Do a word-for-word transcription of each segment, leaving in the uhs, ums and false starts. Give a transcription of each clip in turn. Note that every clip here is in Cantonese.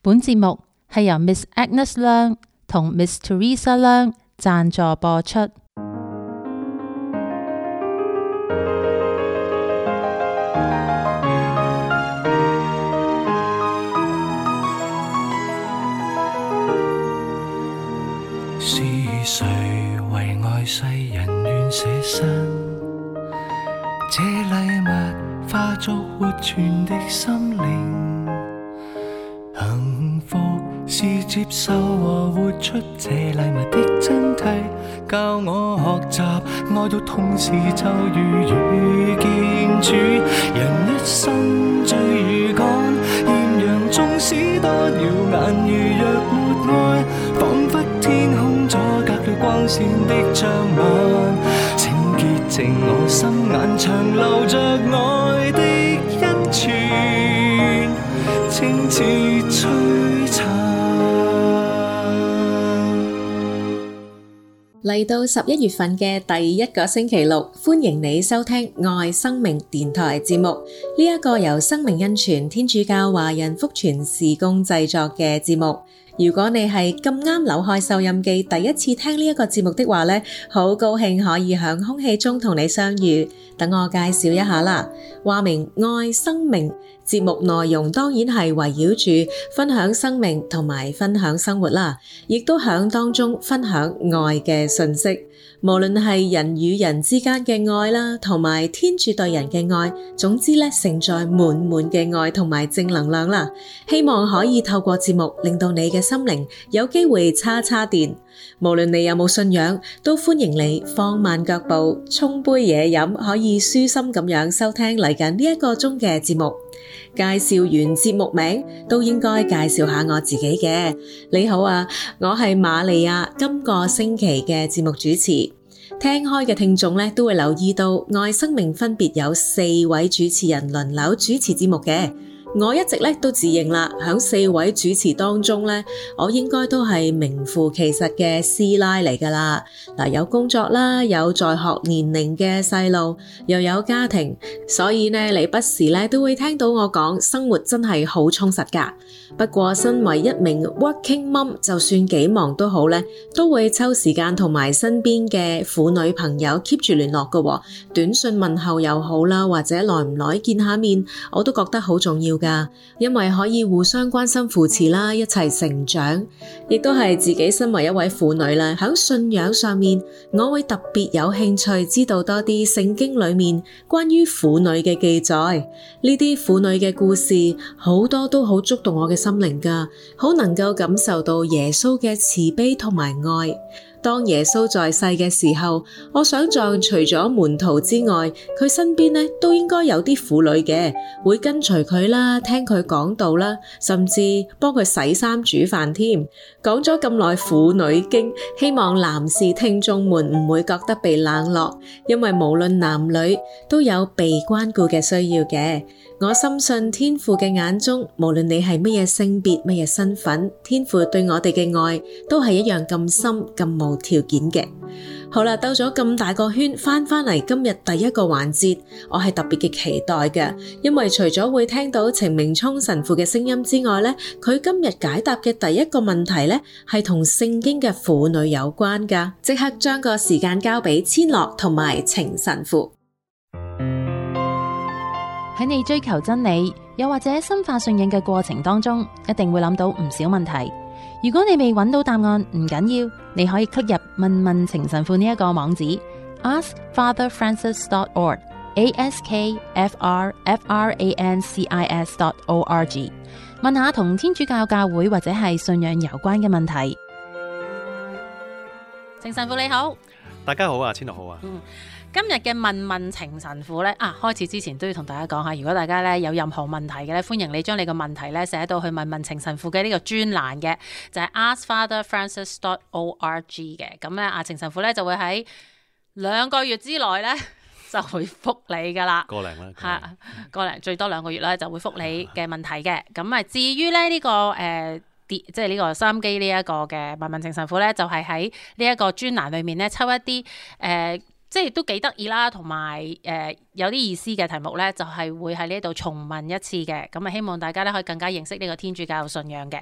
本節目係由 Miss Agnes 梁同 Miss Teresa 梁贊助播出。 是誰為愛世人願捨身？這禮物化作活存的心靈。幸福是接受和活出這禮物的真諦，教我學習愛到痛時就如遇見主。人一生追與趕，豔陽縱使多耀眼，如若沒愛，彷彿天空阻隔了光線的障眼。請潔淨我心眼，長留着愛的恩泉，清似璀璨。 嚟到十一月份嘅第一個星期六，歡迎你收聽愛生命電台節目。呢一個由生命恩泉天主教華人福傳事工製作嘅節目。如果你係咁啱扭開收音機第一次聽呢一個節目的話呢，好高興可以喺空氣中同你相遇。等我介紹一下啦，話明愛生命節目內容當然係圍繞住分享生命同埋分享生活啦，亦都響當中分享愛嘅信息。無論係人與人之間嘅愛啦，同埋天主對人嘅愛，總之咧承載滿滿嘅愛同埋正能量啦。希望可以透過節目令到你嘅心靈有機會叉叉電。無論你有冇信仰，都歡迎你放慢腳步，沖杯嘢飲，可以舒心咁樣收聽嚟緊呢一個鐘嘅節目。介紹完節目名，都應該介紹下我自己嘅。你好啊，我係瑪利亞，今個星期嘅節目主持。聽開嘅聽眾咧，都會留意到愛生命分別有四位主持人輪流主持節目嘅。我一直咧都自認啦，響四位主持當中咧，我應該都係名副其實嘅師奶嚟噶啦。嗱，有工作啦，有在學年齡嘅細路，又有家庭，所以呢，你不時咧都會聽到我講生活真係好充實噶。不過身為一名 working mom， 就算幾忙都好咧，都會抽時間同埋身邊嘅婦女朋友 keep 住聯絡噶，短信問候又好啦，或者耐唔耐見下面，我都覺得好重要噶。因為可以互相關心扶持啦，一齊成長，亦都係自己身為一位婦女啦，喺信仰上面，我會特別有興趣知道多啲聖經裏面關於婦女嘅記載。呢啲婦女嘅故事好多都好觸動我嘅心靈噶，好能夠感受到耶穌嘅慈悲同埋愛。當耶穌在世嘅時候，我想像除咗門徒之外，佢身邊咧都應該有啲婦女嘅，會跟隨佢啦，聽佢講道啦，甚至幫佢洗衫煮飯添。講咗咁耐婦女經，希望男士聽眾們唔會覺得被冷落，因為無論男女都有被關顧嘅需要嘅。我深信天父嘅眼中，無論你係乜嘢性別、乜嘢身份，天父對我哋嘅愛都係一樣咁深、咁無條件嘅。好啦，兜咗咁大個圈，翻返嚟今日第一個環節，我係特別嘅期待嘅，因為除咗會聽到程明聰神父嘅聲音之外咧，佢今日解答嘅第一個問題咧，係同聖經嘅婦女有關噶。即刻將個時間交俾千樂同埋程神父。 喺你追求真理，又或者深化信仰嘅過程當中，一定會諗到唔少問題。如果你未揾到答案，唔緊要，你可以 click 入問問程神父呢一個網址 ask father francis dot org a s k f r f r a n c i s dot org 問下同天主教教會或者係信仰有關嘅問題。程神父你好。 大家好啊，千樂好啊。 嗯今日嘅問問程神父咧，啊，開始之前都要同大家講下，如果大家咧有任何問題嘅咧，歡迎你將你個問題咧寫到去問問程神父嘅呢個專欄嘅，就係 ask father francis dot org 嘅。咁咧，阿程神父咧就會喺兩個月之內咧就會覆你噶啦， 個零啦， 係個零最多兩個月咧就會覆你嘅問題嘅。咁啊，至於咧呢個誒。呃即係呢個收音機呢一個嘅問問程神父咧，就係喺呢一個專欄裏面咧抽一啲誒、呃，即係都幾得意啦，同埋誒有啲意思嘅題目咧，就係、是、會喺呢度重問一次嘅。咁啊，希望大家咧可以更加認識呢個天主教信仰嘅。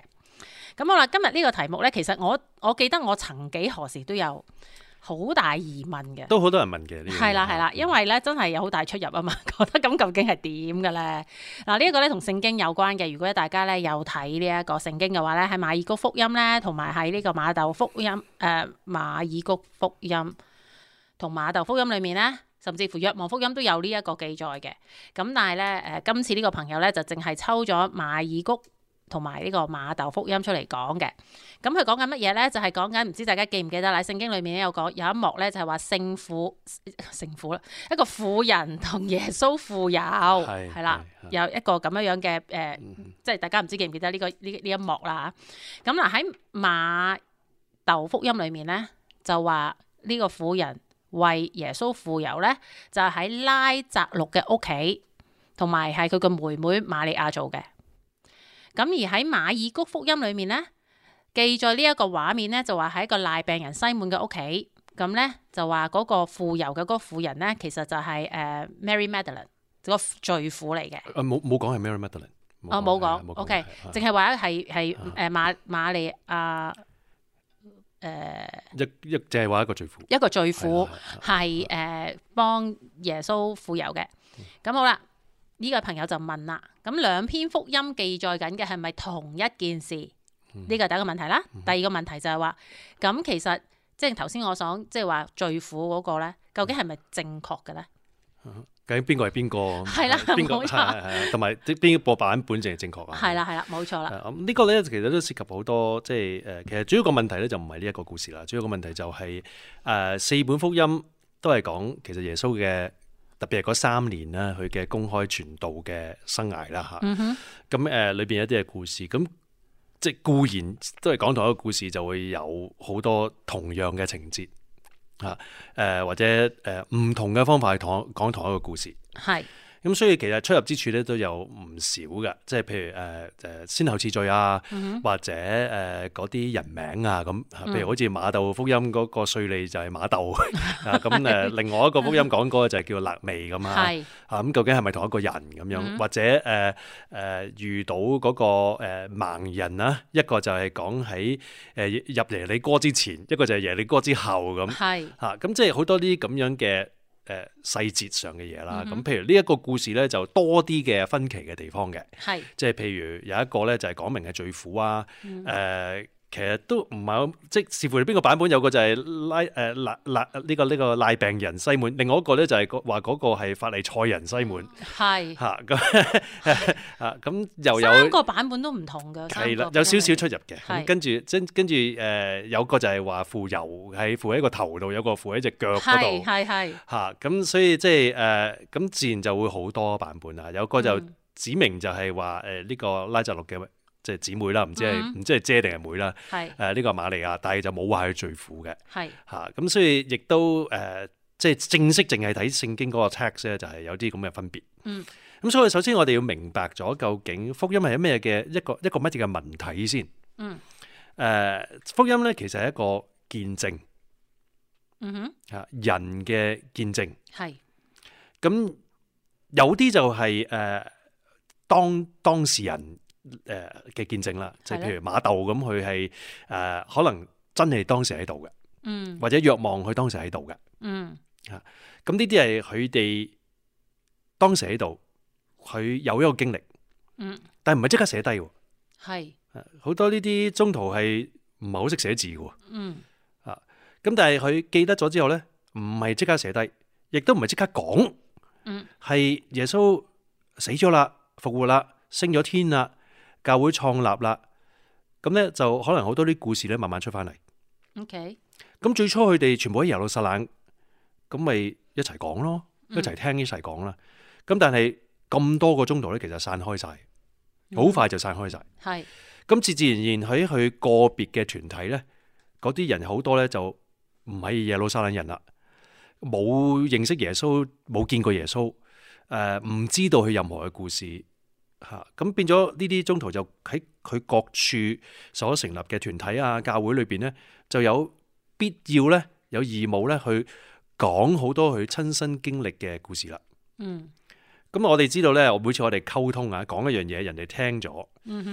咁好啦，今日呢個題目咧，其實我我記得我曾幾何時都有好大疑問嘅， 都好多人問嘅。 係啦係啦，因為咧真係有好大出入啊嘛，覺得咁究竟係點嘅咧？嗱，呢一個咧同聖經有關嘅。如果大家咧有睇呢一個聖經嘅話咧，喺馬爾谷福音咧，同埋喺呢個馬竇福音誒、呃、馬爾谷福音同馬竇福音裏面咧，甚至乎若望福音都有呢一個記載嘅。咁但係咧誒，今次呢個朋友咧就淨係抽咗馬爾谷同埋呢個馬竇福音出嚟講嘅。咁佢講緊乜嘢咧？就係講緊唔知大家記唔記得啦？聖經裏面咧有講有一幕咧，就係話聖婦聖婦啦，一個婦人同耶穌傅油係啦，有一個咁樣樣嘅誒，即係大家唔知記唔記得呢、這個呢呢一幕啦。咁嗱喺馬竇福音裏面咧，就話呢個婦人為耶穌傅油咧，就喺、是、拉匝祿嘅屋企，同埋係佢個妹妹瑪利亞做嘅。咁而喺馬爾谷福音裏面咧，記載呢一個畫面咧，就話喺一個賴病人西滿嘅屋企，咁咧就話嗰個傅油嘅嗰個婦人咧，其實就係、是、誒、uh, Mary Magdalene 個罪婦嚟嘅。 誒冇冇講係 Mary Magdalene。 哦冇講 ，OK， 淨係話係係誒瑪瑪利亞誒一一淨係話一個罪婦， 一個罪婦係誒幫耶穌傅油嘅。咁、嗯、好啦。呢、這個朋友就問啦，咁兩篇福音記載緊嘅係咪同一件事？呢個係第一個問題啦。第二個問題就係話，咁其實即係頭先我想即係話罪婦嗰個咧，究竟係咪正確嘅咧？ 究竟邊個係邊個？係啦，邊個係係同埋邊個版本淨係正確啊？係啦係啦，冇錯啦。咁、這、呢個咧其實都涉及好多，即係誒，其實主要個問題咧就唔係呢一個故事啦。主要個問題就係、是、誒、呃、四本福音都係講其實耶穌嘅。特別係嗰三年啦，佢嘅公開傳道嘅生涯啦嚇。咁誒裏邊有啲嘅故事，咁即係固然都係講同一個故事，就會有好多同樣嘅情節嚇。誒、呃、或者誒唔、呃、同嘅方法去同講同一個故事。係。咁所以其實出入之處咧都有唔少嘅，即係譬如誒誒、呃、先後次序啊，嗯、或者誒嗰啲人名啊咁，譬如好似馬竇福音嗰個稅吏就係馬竇啊，咁誒另外一個福音講嗰個就係叫肋未咁啊，啊咁究竟係咪同一個人咁樣？嗯、或者誒誒、呃、遇到嗰、那個誒、呃、盲人啊，一個就係講喺誒入耶利哥之前，一個就係耶利哥之後咁，係嚇咁即係好多啲咁樣嘅。誒、呃、細節上嘅嘢啦，咁、嗯、譬如呢一個故事咧就多啲嘅分歧嘅地方嘅，係即係譬如有一個咧就係講明係罪婦啊，誒、嗯。呃其實都唔係好，即係視乎你邊個版本，有個就係拉誒拉拉呢個呢個賴病人西滿，另外一個咧就係話嗰個係法利賽人西滿，係嚇咁啊咁又有三個版本都唔同嘅，係啦，有少少出入嘅。咁跟住跟跟住誒有個就係話傅油係傅喺個頭度，有個傅喺隻腳嗰度，係係嚇咁，所以即係誒咁自然就會好多版本啦。有個就指明就係話誒呢個拉匝祿嘅。即係姊妹啦，唔知係唔、嗯、知係姐定係妹啦。係誒呢個瑪利亞，但係就冇話佢罪婦嘅。係嚇咁，所以亦都誒、呃、即係正式淨係睇聖經嗰個 text 咧，就係有啲咁嘅分別。嗯，咁所以首先我哋要明白咗究竟福音係咩嘅一個一個乜嘢嘅文體先。嗯。誒、呃、福音咧其實係一個見證。嗯哼。嚇人嘅見證。係。咁有啲就係、是、誒、呃、當當事人。誒嘅見證啦，即係譬如馬竇咁，佢係誒可能真係當時喺度嘅，嗯，或者若望佢當時喺度嘅，嗯，嚇，咁呢啲係佢哋當時喺度，佢有一個經歷，嗯，但係唔係即刻寫低喎，係，好多呢啲中途係唔係好識寫字嘅，嗯，啊，咁但係佢記得咗之後咧，唔係即刻寫低，亦都唔係即刻講，嗯，係耶穌死咗啦，復活啦，升咗天啦。教會創立啦，咁咧就可能好多啲故事咧慢慢出翻嚟。OK，咁最初佢哋全部喺耶路撒冷，咁咪一齊講咯，一齊聽一齊講啦。咁、嗯、但係咁多個鐘頭咧，其實散開晒，好、嗯、快就散開晒。係，咁自自然然喺佢個別嘅團體咧，嗰啲人好多咧就唔係耶路撒冷人啦，冇認識耶穌，冇見過耶穌，誒、呃、唔知道佢任何嘅故事。嚇，咁變咗呢啲宗徒就喺佢各處所成立嘅團體啊、教會裏邊咧，就有必要咧、有義務咧去講好多佢親身經歷嘅故事啦。嗯，咁我哋知道咧，每次我哋溝通啊，講一樣嘢，人哋聽咗，嗯哼，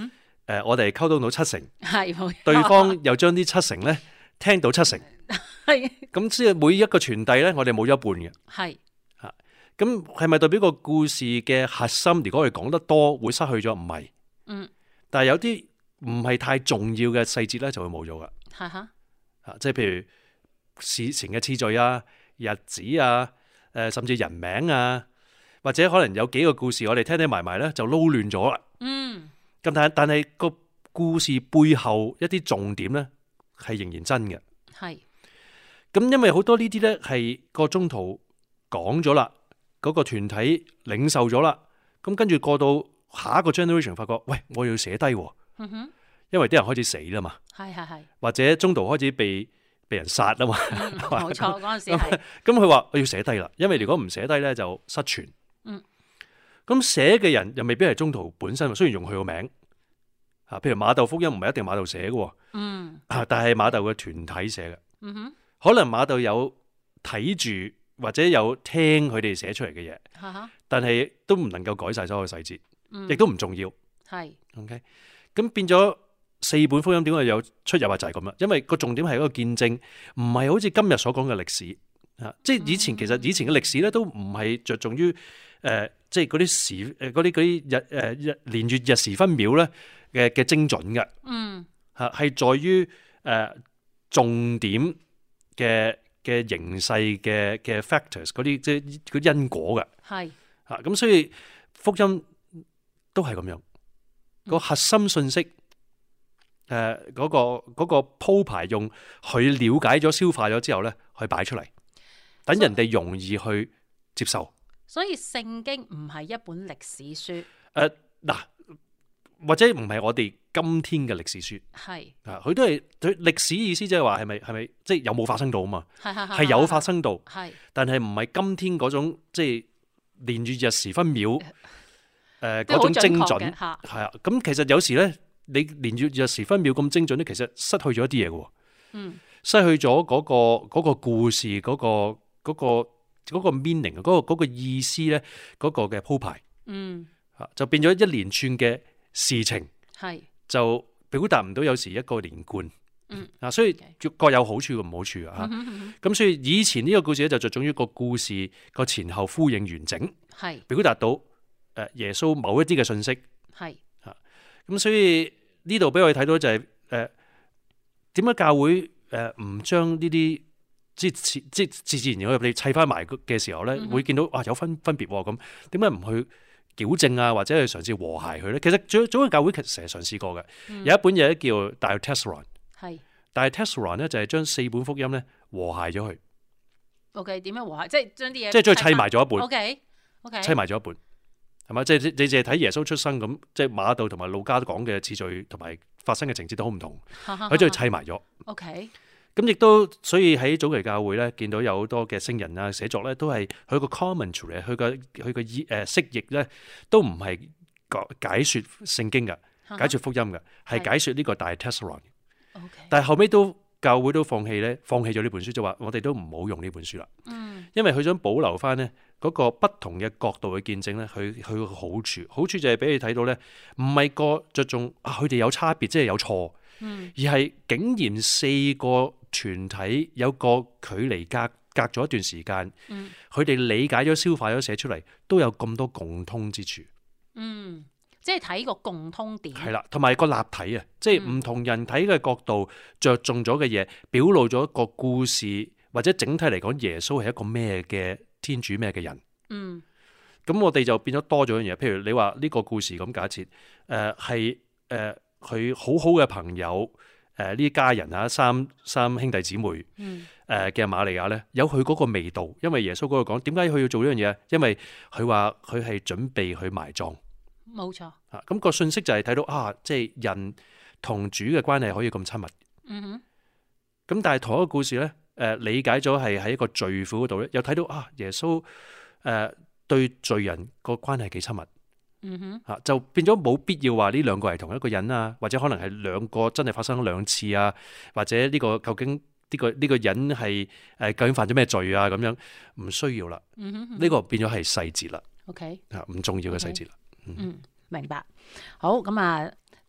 呃、我哋溝通到七成， 係冇錯， 對方又將啲七成咧聽到七成， 係咁即係每一個傳遞咧，我哋冇咗一半嘅。 係嚇，咁係咪代表個故事嘅核心？如果我哋講得多，會失去咗？唔係，嗯，但係有啲唔係太重要嘅細節咧，就會冇咗噶。 係嚇， 啊，即係譬如事情嘅次序啊、日子啊、誒、呃、甚至人名啊，或者可能有幾個故事，我哋聽聽埋埋咧就撈亂咗啦。嗯，咁但係但係個故事背後一啲重點咧係仍然真嘅。係，咁因為好多呢啲咧係個中途講咗啦，嗰、嗰個團體領受咗啦，咁跟住過到下一個 generation 發覺，喂，我要寫低喎。嗯哼。因為啲人開始死啦嘛，係係係，或者中途開始被被人殺啦嘛，冇、嗯、錯，嗰陣時係。咁佢話我要寫低啦，因為如果唔寫低咧就失傳。嗯，咁寫嘅人又未必係中途本身，雖然用佢個名，吓，譬如馬竇福音唔係一定馬竇寫嘅，嗯，但係馬竇嘅團體寫嘅，嗯哼，可能馬竇有睇住或者有聽佢哋寫出嚟嘅嘢，嗯、但係都唔能夠改晒所有細節，亦、嗯、都唔重要，係 ，OK， 咁變咗。四本福音點解有出入啊？就係咁啦，因為個重點係一個見證，唔係好似今日所講嘅歷史啊。即係以前其實以前嘅歷史咧，都唔係着重於誒，即係嗰啲時誒嗰啲嗰啲日誒日年月日時分秒咧嘅嘅精準嘅。嗯，嚇係在於誒重點嘅嘅形勢嘅嘅 factors 嗰啲即係嗰因果嘅。係嚇咁，所以福音都係咁樣個核心信息。誒、呃，嗰、那個嗰、那個鋪排用佢了解咗、消化咗之後咧，去擺出嚟，等人哋容易去接受。所以聖經唔係一本歷史書。誒、呃，嗱，或者唔係我哋今天嘅歷史書。係啊，佢都係佢歷史意思，即係話係咪係咪即係有冇發生到啊嘛？係係係有發生到。係，但係唔係今天嗰種即係年月日時分秒誒嗰、呃、種精準。係啊，咁其實有時咧。你年月日時分秒咁精準咧，其實失去咗一啲嘢嘅，嗯，失去咗嗰、嗰個、嗰個故事嗰、嗰個、嗰個、嗰個 meaning 嗰、嗰個、嗰個意思咧，嗰、嗰個嘅鋪排，嗯，吓就變咗一連串嘅事情，係就表達唔到有時一個連貫，嗯，啊，所以各有好處同唔好處啊，吓、嗯，咁所以以前呢個故事咧就着重於個故事個前後呼應完整，係表達到誒耶穌某一啲嘅信息，係吓，咁所以。呢度俾我哋睇到就係誒點解教會誒唔將呢啲即係即係自自然然我哋砌翻埋嘅時候咧，嗯、會見到啊有分分別咁，點解唔去矯正啊，或者去嘗試和諧佢咧？其實早早嘅教會其實成日嘗試過嘅、嗯，有一本嘢叫大 Testron， 係大 Testron 咧就係將四本福音咧和諧咗佢。O K， 點樣和諧？即係將啲嘢即係將佢砌埋咗一本。O K，O K， 砌埋咗一本。係嘛？即係你淨係睇耶穌出生咁，即係馬竇同埋路加都講嘅次序同埋發生嘅情節都好唔同，佢將佢砌埋咗。OK，咁亦都所以喺早期教會咧，見到有好多嘅聖人啊寫作咧，都係佢個 commentary，佢個佢個意誒釋譯咧，都唔係解解說聖經嘅，解說福音嘅，係解說呢個大 Testron。OK，但係後尾都教會都放棄咧，放棄咗呢本書，就話我哋都唔好用呢本書啦。嗯，因為佢想保留翻咧。嗰個不同嘅角度去見證咧，佢佢個好處，好處就係俾你睇到咧，唔係個着重啊，佢哋有差別，即係有錯，嗯，而係竟然四個團體有個距離隔隔咗一段時間，嗯，佢哋理解咗、消化咗、寫出嚟，都有咁多共通之處，嗯，即係睇個共通點，係啦，同埋個立體啊，即係唔同人睇嘅角度着重咗嘅嘢，表露咗一個故事，或者整體嚟講，耶穌係一個咩嘅天主咩嘅人，嗯，咁我哋就變咗多咗樣嘢。譬如你話呢個故事咁假設，誒係誒佢好好嘅朋友，誒呢家人啊，三三兄弟姊妹，誒、嗯、嘅瑪利亞咧，有佢嗰個味道。因為耶穌嗰度講，點解佢要做呢樣嘢？因為佢話佢係準備去埋葬，冇錯。啊，咁個信息就係睇到啊，即係人同主嘅關係可以咁親密。嗯哼。咁但係同一個故事咧。誒、呃、理解咗係喺一個罪婦嗰度咧，又睇到啊耶穌誒、呃、對罪人個關係幾親密，嗯哼嚇、啊、就變咗冇必要話呢兩個係同一個人啊，或者可能係兩個真係發生咗兩次啊，或者呢個究竟呢、呢個呢、呢個人係誒、呃、究竟犯咗咩罪啊咁樣，唔需要啦，呢、嗯呢個變咗係細節啦，OK 嚇唔重要嘅細節啦，okay. 嗯，嗯明白。好咁啊。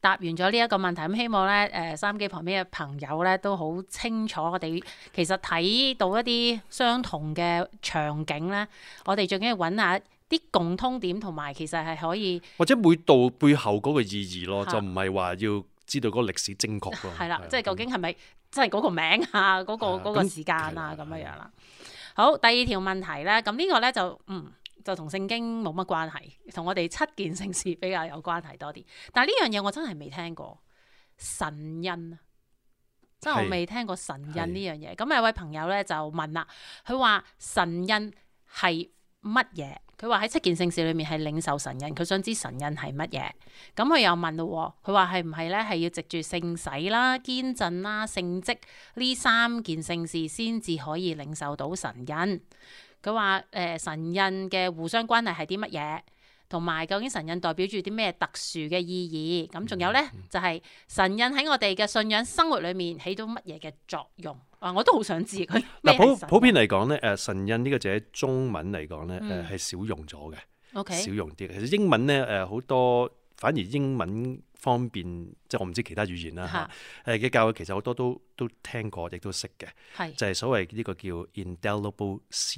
答完咗呢一個問題，咁希望咧誒收音機旁邊嘅朋友咧都好清楚，我哋其實睇到一啲相同嘅場景咧，我哋最緊要揾下啲共通點，同埋其實係可以或者每度背後嗰個意義咯，就唔係話要知道嗰個歷史正確咯。 係啦，即係究竟係咪真係嗰個名啊，嗰、嗰個嗰、嗰個時間啊咁樣樣啦。好，第二條問題咧，咁呢個咧就嗯。就同聖經冇乜關係，同我哋七件聖事比較有關係多啲。但係呢樣嘢我真係未聽過神恩啊，真係我未聽過神恩呢樣嘢。咁有位朋友咧就問啦，佢話神恩係乜嘢？佢話喺七件聖事裏面係領受神恩，佢想知神恩係乜嘢。咁佢又問咯，佢話係唔係咧係要藉住聖洗啦、堅振啦、聖職呢三件聖事先至可以領受到神恩？佢話誒神恩嘅互相關係係啲乜嘢，同埋究竟神恩代表住啲咩特殊嘅意義？咁仲有咧就係、是、神恩喺我哋嘅信仰生活裏面起到乜嘢嘅作用？啊，我都好想知佢。嗱， 普普遍嚟講咧，誒神恩呢個字喺中文嚟講咧，誒係少用咗嘅。OK，少用啲嘅。其實英文咧誒好多，反而英文方面，即係我唔知其他語言啦嚇。誒嘅教會其實好多都都聽過，亦都識嘅。係就係所謂呢個叫 indelible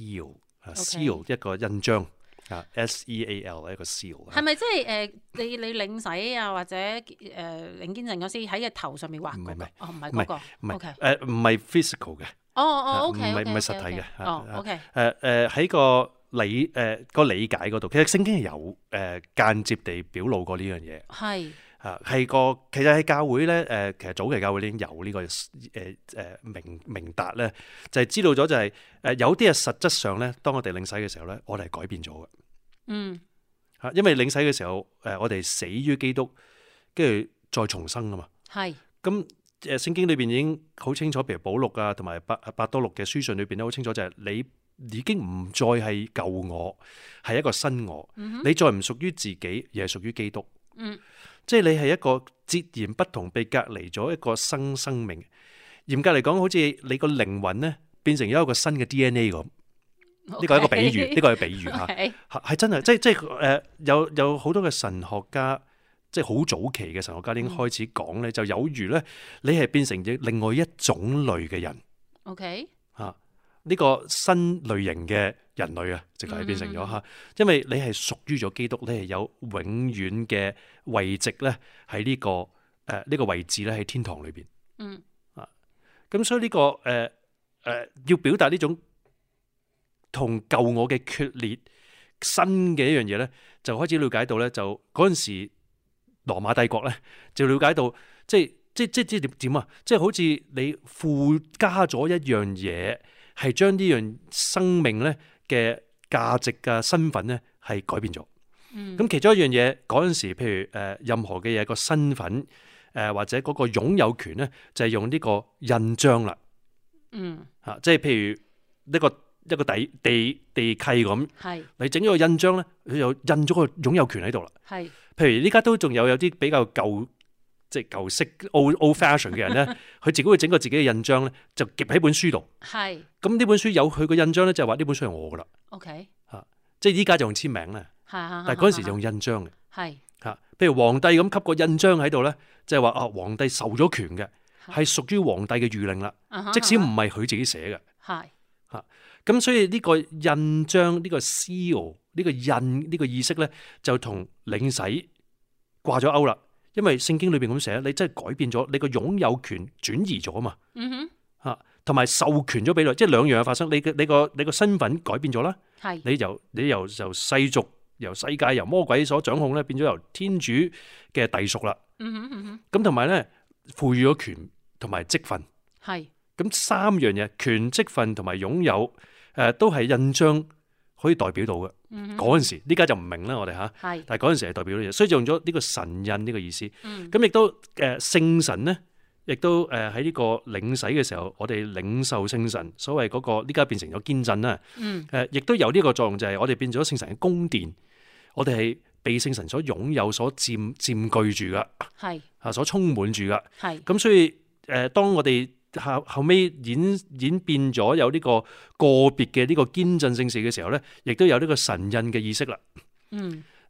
seal，seal 一個印章啊 ，S E A L 一個 seal。係咪即係誒你你領洗啊，或者誒領堅振嗰時喺個頭上面畫？唔係唔係，哦唔係嗰個，唔係誒唔係 physical 嘅。哦哦 OK，唔係唔係實體嘅。哦 OK。誒誒喺個理誒個理解嗰度，其實聖經係有誒間接地表露過呢樣嘢。係。啊，係個其實喺教會咧，誒，其實早期教會已經有呢個誒誒明明達咧，就係知道咗就係誒有啲係實質上咧，當我哋領洗嘅時候咧，我哋係改變咗嘅。嗯，嚇，因為領洗嘅時候，誒，我哋死於基督，跟住再重生啊嘛。係。咁誒聖經裏邊已經好清楚，譬如保祿啊，同埋伯伯多祿嘅書信裏邊都好清楚，就係你已經唔再係舊我，係一個新我。嗯、你再唔屬於自己，而係屬於基督。嗯。即係你係一個截然不同，被隔離咗一個新生命。嚴格嚟講，好似你個靈魂咧變成咗一個新嘅 D N A 咁。呢個係一個比喻，呢、這個係比喻吓，係、okay. 真係，即係即係誒，有有好多嘅神學家，即係好早期嘅神學家已經開始講咧、嗯，就有如咧，你係變成咗另外一種類嘅人。OK， 吓、啊、呢、這個新類型嘅人類啊，直頭係變成咗吓、嗯，因為你係屬於咗基督，你係有永遠嘅位置咧喺呢個誒呢、呃這個位置咧喺天堂裏邊。嗯啊，咁所以呢、這個誒誒、呃呃、要表達呢種同舊我嘅決裂新嘅一樣嘢咧，就開始了解到咧，就嗰陣時羅馬帝國咧就了解到，即係即係即係即係點點啊，即係好似你附加咗一樣嘢，係將呢樣生命咧嘅價值嘅身份咧係改變咗。咁、嗯、其中一樣嘢嗰陣時，譬如誒任何嘅嘢個身份誒或者嗰個擁有權咧，就係用呢個印章啦。嗯，吓即係譬如呢個。一個地地地契咁，你整咗個印章咧，佢又印咗個擁有權喺度啦。係，譬如依家都仲有有啲比較舊，即係舊式 old old fashion 嘅人咧，佢自己會整個自己嘅印章咧，就夾喺本書度。係，咁呢本書有佢個印章咧，就係話呢本書係我噶啦。OK，吓，即係依家就用簽名咧，但係嗰陣時就用印章嘅。係，吓，譬如皇帝咁吸個印章喺度咧，即係話啊，皇帝受咗權嘅，係屬於皇帝嘅諭令啦。即使唔係佢自己寫嘅。係，吓。咁所以呢個印章呢、呢個 seal 呢個印呢、呢個意識咧，就同領洗掛咗鈎啦。因為聖經裏邊咁寫，你真係改變咗你個擁有權轉移咗啊嘛。嗯哼，吓同埋授權咗俾你，即係兩樣嘢發生。你嘅你個你個身份改變咗啦。係你由你由由世俗由世界由魔鬼所掌控咧，變咗由天主嘅隸屬啦。嗯哼嗯哼。咁同埋咧，賦予咗權同埋職分。係咁三樣嘢，權職分同埋擁有。誒、呃，都係印章可以代表到嘅。嗰、嗯、陣時，呢家就唔明啦，我哋吓。係，但係嗰陣時係代表到嘢，所以就用咗呢個神印呢個意思。咁、嗯、亦都誒，聖、呃、神咧，亦都誒喺呢個領洗嘅時候，我哋領受聖神，所謂嗰、那個呢家變成咗堅振啦。嗯。誒、呃，亦都有呢個作用，就係我哋變咗聖神嘅宮殿，我哋係被聖神所擁有、所佔佔據住噶。係。啊，所充滿住噶。係。咁所以誒、呃，當我哋後後尾演演變咗有呢個個別嘅呢個堅振聖事嘅時候咧，亦都有呢個神印嘅意識啦。嗯，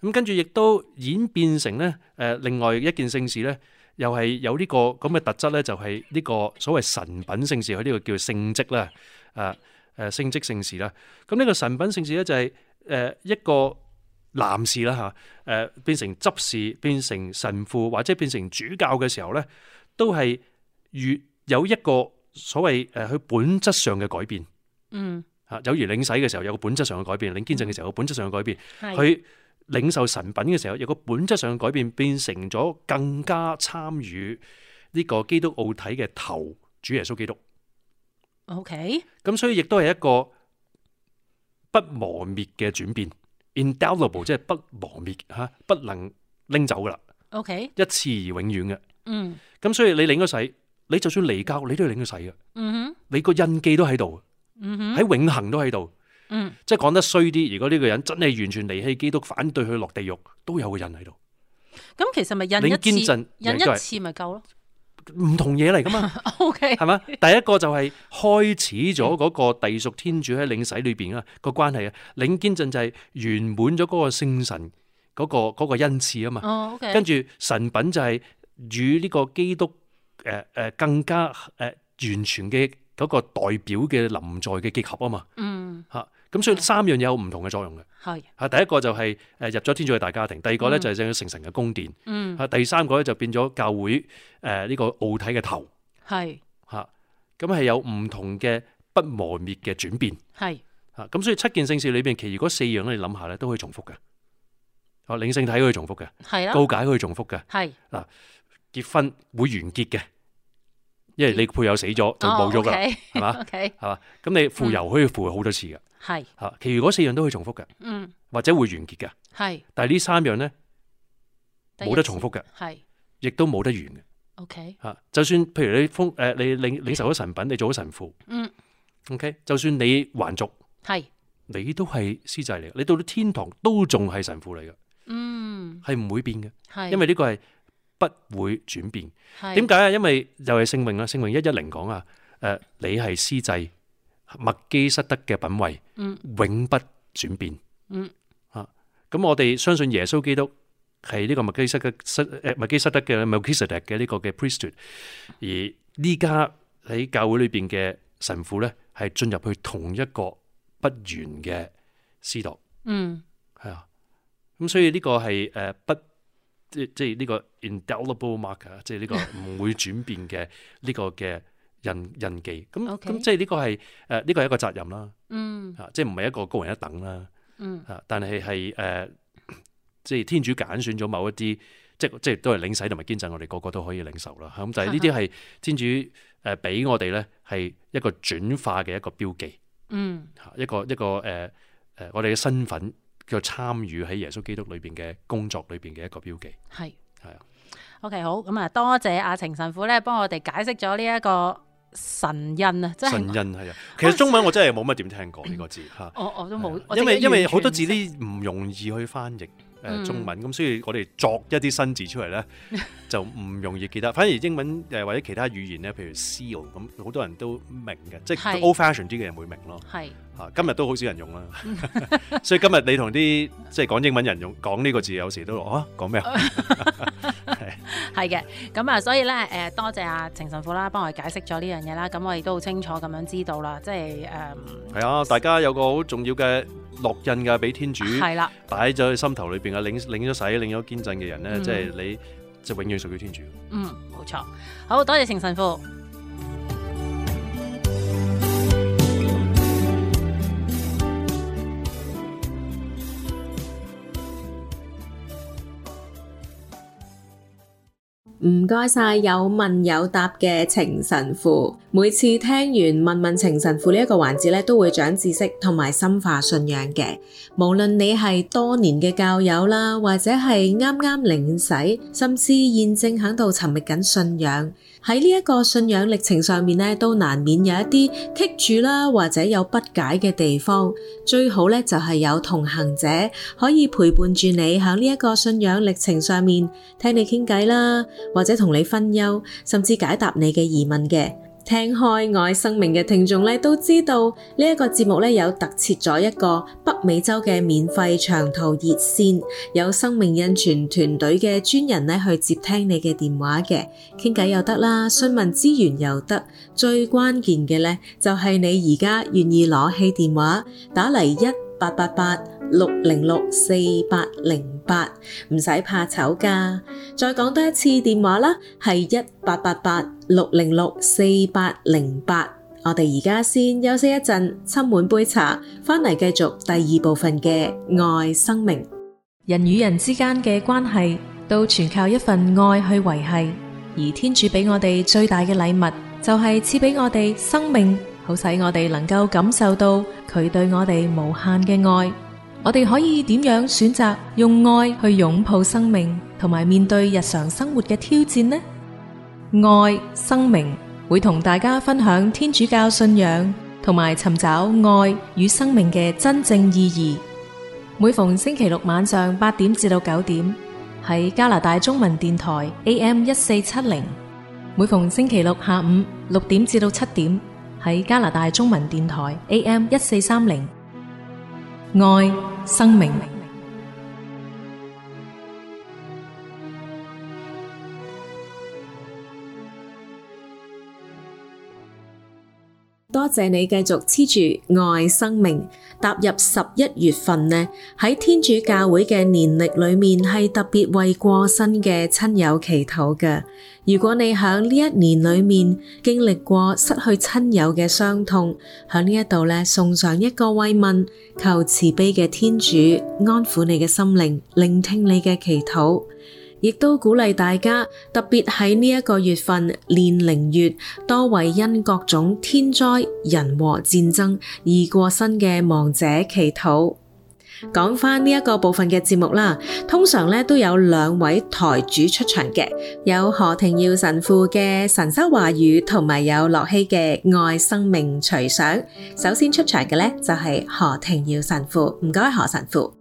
咁跟住亦都演變成咧誒、呃、另外一件聖事咧，又係有呢個咁嘅特質咧，就係呢個所謂神品聖事，佢呢個叫聖職啦，誒誒聖職聖事啦。咁呢個神品聖事咧就係誒一個男士啦嚇，誒變成執事、變成神父或者變成主教嘅時候咧，都係越有一個所謂誒佢本質上嘅改變。嗯，嚇有如領洗嘅時候有個本質上嘅改變，領堅振嘅時候有個本質上嘅改變，佢領受神品嘅時候有個本質上嘅改變，變成咗更加參與呢個基督奧體嘅頭主耶穌基督。OK，咁所以亦都係一個不磨滅嘅轉變 ，indelible 即係不磨滅嚇，不能拎走噶啦。OK，一次而永遠嘅。嗯，咁所以你領咗洗，你就算離教，你都要領咗洗嘅。嗯哼，你個印記都喺度。嗯哼，喺永恆都喺度。嗯，即係講得衰啲，如果呢個人真係完全離棄基督，反對佢落地獄，都有個印喺度。咁其實咪印一次，印一次咪夠咯？唔同嘢嚟噶嘛。OK，係嘛？第一個就係開始咗嗰個隸屬天主喺領洗裏邊啊個關係啊，領堅振就係圓滿咗嗰個聖神嗰個嗰個恩賜啊嘛。哦，OK。跟住神品就係與呢個基督誒誒更加誒完全嘅嗰個代表嘅臨在嘅結合啊嘛。嗯。吓。咁所以三樣嘢有唔同嘅作用嘅，係嚇第一個就係誒入咗天主嘅大家庭，第二個咧就係聖神嘅宮殿，嗯嚇第三個咧就變咗教會誒呢個奧體嘅頭，係嚇咁係有唔同嘅不磨滅嘅轉變，係嚇咁所以七件聖事裏邊，其餘嗰四樣咧你諗下咧都可以重複嘅，哦領聖體可以重複嘅，係啦，告解可以重複嘅，係嗱結婚會完結嘅。因為你配偶死咗就冇咗噶啦，係嘛？係嘛？咁你傅油可以傅好多次噶，係吓，其餘嗰四樣都可以重複嘅，嗯，或者會完結嘅，係。但係呢三樣咧冇得重複嘅，係，亦都冇得完嘅。OK，吓，就算譬如你封誒，你領領受咗神品，你做咗神父，嗯 ，OK，就算你還俗，係，你都係司祭嚟嘅，你到咗天堂都仲係神父嚟嘅，嗯，係唔會變嘅，係，因為呢個係。不會轉變，點解啊？因為又係聖詠啦，聖詠一一零講啊，誒，你係司祭，麥基瑟德嘅品位，嗯，永不轉變，嗯，啊，咁我哋相信耶穌基督係呢個麥基瑟嘅誒麥基瑟德嘅 Melchizedek 嘅呢個嘅 priesthood，而呢家喺教會裏邊嘅神父咧，係進入去同一個不完嘅司鐸，嗯，係啊，咁所以呢個係誒不。即即係呢個 indelible marker，即係呢個唔會轉變嘅呢個嘅印印記。咁咁即係呢個係誒呢個係一個責任啦。嗯，嚇，即係唔係一個高人一等啦。嗯，嚇，但係係誒，即係天主揀選咗某一啲，即即係都係領洗同埋堅振，我哋個個都可以領受啦。咁就係呢啲係天主誒俾我哋咧，係一個轉化嘅一個標記。嗯，嚇，一個一個誒誒，我哋嘅身份。叫參與喺耶穌基督裏邊嘅工作裏邊嘅一個標記，係係啊。OK， 好，咁啊，多謝阿程神父咧，幫我哋解釋咗呢一個神印啊，即係神印係啊。其實中文我真係冇乜點聽過呢個字吓，我我都冇，因為因為好多字啲唔容易去翻譯。誒中文咁，所以我哋作一啲新字出嚟咧，就唔容易記得。反而英文誒或者其他語言咧，譬如 seal 咁，好多人都明嘅，即係 old fashion 啲嘅人會明咯。係啊，今日都好少人用啦。所以今日你同啲即係講英文人用講呢個字，有時都啊講咩啊？係嘅，咁啊，所以咧誒，多謝阿程神父啦，幫我哋解釋咗呢樣嘢啦。咁我亦都好清楚咁樣知道啦，即係誒。係啊，大家有個好重要嘅烙印㗎，俾天主係啦，擺咗喺心頭裏邊啊，領領咗洗、領咗堅振嘅人咧，即係你就永遠屬於天主。嗯，冇錯。好多謝程神父。唔該晒有問有答嘅程神父，每次聽完問問程神父呢一個環節咧，都會長知識同埋深化信仰嘅。無論你係多年嘅教友啦，或者係啱啱領洗，甚至現正喺度尋覓緊信仰，喺呢一個信仰歷程上面咧，都難免有一啲棘住啦，或者有不解嘅地方。最好咧就係有同行者可以陪伴住你喺呢一個信仰歷程上面，聽你傾偈啦，或者同你分憂，甚至解答你嘅疑問嘅。 聽開愛生命嘅聽眾咧，都知道呢一個節目咧有特設咗一個北美洲嘅免費長途熱線，有生命印傳團隊嘅專人咧去接聽你嘅電話嘅，傾偈又得啦，詢問資源又得，最關鍵嘅咧就係你而家願意攞起電話打嚟一八八八六零六四八零八，唔使怕醜㗎。再講多一次電話啦，係一八八八六零六四八零八。我哋而家先休息一陣，斟滿杯茶，返嚟繼續第二部分嘅愛生命。人與人之間嘅關係都全靠一份愛去維繫，而天主俾我哋最大嘅禮物就係賜俾我哋生命，好使我哋能夠感受到佢對我哋無限嘅愛。我哋可以點樣選擇用愛去擁抱生命，同埋面對日常生活嘅挑戰呢？愛生命會同大家分享天主教信仰，同埋尋找愛與生命嘅真正意義。每逢星期六晚上八點至到九點，喺加拿大中文電台 A M 一四七零；每逢星期六下午六點至到七點，喺加拿大中文電台 A M 一四三零。愛生命。多謝你繼續黐住愛生命。踏入十一月份呢，喺天主教會嘅年曆裏面係特別為過身嘅親友祈禱嘅。如果你喺呢一年裏面經歷過失去親友嘅傷痛，喺呢一度呢送上一個慰問，求慈悲嘅天主安撫你嘅心靈，聆聽你嘅祈禱。亦都鼓勵大家，特別喺呢一個月份煉靈月，多為因各種天災人禍戰爭而過身嘅亡者祈禱。講返呢一個部分嘅節目啦，通常咧都有兩位台主出場嘅，有何庭耀神父嘅神修話語，同埋有樂希嘅愛生命隨想。首先出場嘅咧就係何庭耀神父，唔該何神父。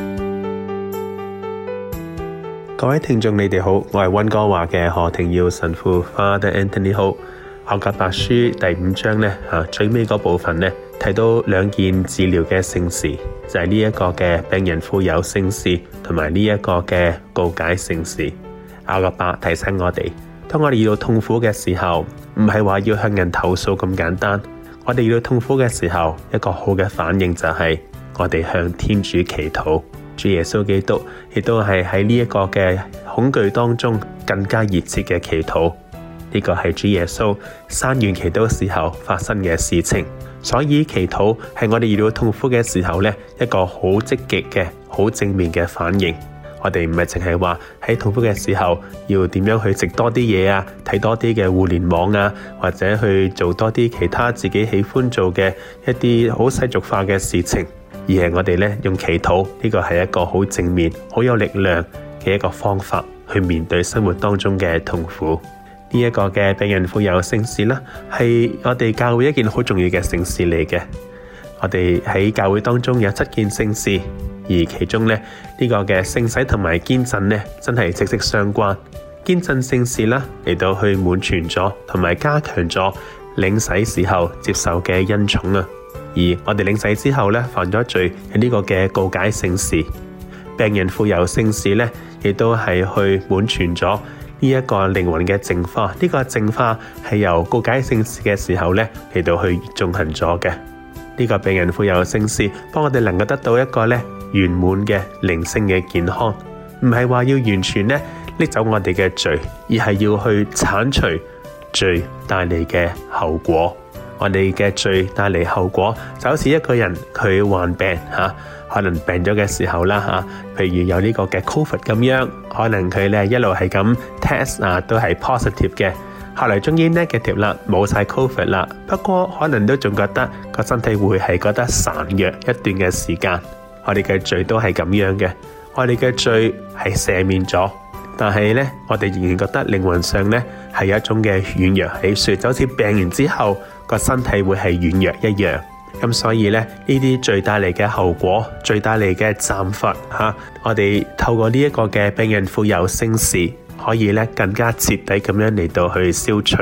各位聽眾你哋好，我係溫哥華嘅何庭耀神父 Father Anthony。 好，雅各伯書第五章呢，啊、最尾嗰部分呢，提到兩件治療嘅聖事，就係呢一個嘅病人傅油聖事，同埋呢一個嘅告解聖事。雅各伯提醒我哋，當我哋遇到痛苦嘅時候，唔係話要向人投訴咁簡單，我哋遇到痛苦嘅時候，一個好嘅反應就係我哋向天主祈禱。主耶穌基督亦都係喺呢一個嘅恐懼當中更加熱切嘅祈禱，呢個係主耶穌山園祈禱時候發生嘅事情。所以祈禱係我哋遇到痛苦嘅時候呢，一個好積極嘅好正面嘅反應。我哋唔係淨係話喺痛苦嘅時候要點樣去食多啲嘢啊，睇多啲嘅互聯網啊，或者去做多啲其他自己喜歡做嘅一啲好世俗化嘅事情，而係我哋咧用祈禱，呢個係一個好正面、好有力量嘅一個方法去面對生活當中嘅痛苦。呢一個嘅病人傅油聖事啦，係我哋教會一件好重要嘅聖事嚟嘅。我哋喺教會當中有七件聖事，而其中咧呢個嘅聖洗同埋堅振咧，真係息息相關。堅振聖事啦，嚟到去滿全咗同埋加強咗領洗時候接受嘅恩寵啊。而我哋領洗之後咧，犯咗罪，係呢個嘅告解聖事。病人傅油聖事咧，亦都係去滿全咗呢一個靈魂嘅淨化。呢個淨化係由告解聖事嘅時候咧嚟到去進行咗嘅。呢個病人傅油聖事，幫我哋能夠得到一個咧圓滿嘅靈性嘅健康，唔係話要完全咧拎走我哋嘅罪，而係要去鏟除罪帶嚟嘅後果。我哋嘅罪帶嚟後果，就好似一個人佢患病吓、啊，可能病咗嘅時候啦吓、啊，譬如有呢個嘅 COVID 咁樣，可能佢咧一路係咁 test 啊，都係 positive 嘅，後來終於 negative 啦，冇晒 COVID 啦，不過可能都仲覺得個身體會係覺得孱弱一段嘅時間。我哋嘅罪都係咁樣嘅，我哋嘅罪係赦免咗，但係咧我哋仍然覺得靈魂上咧係有一種嘅軟弱喺度，就好似病完之後個身體會係軟弱一樣。咁所以咧呢啲罪帶嚟嘅後果，罪帶嚟嘅暫罰吓，我哋透過呢一個嘅病人傅油聖事，可以咧更加徹底咁樣嚟到去消除。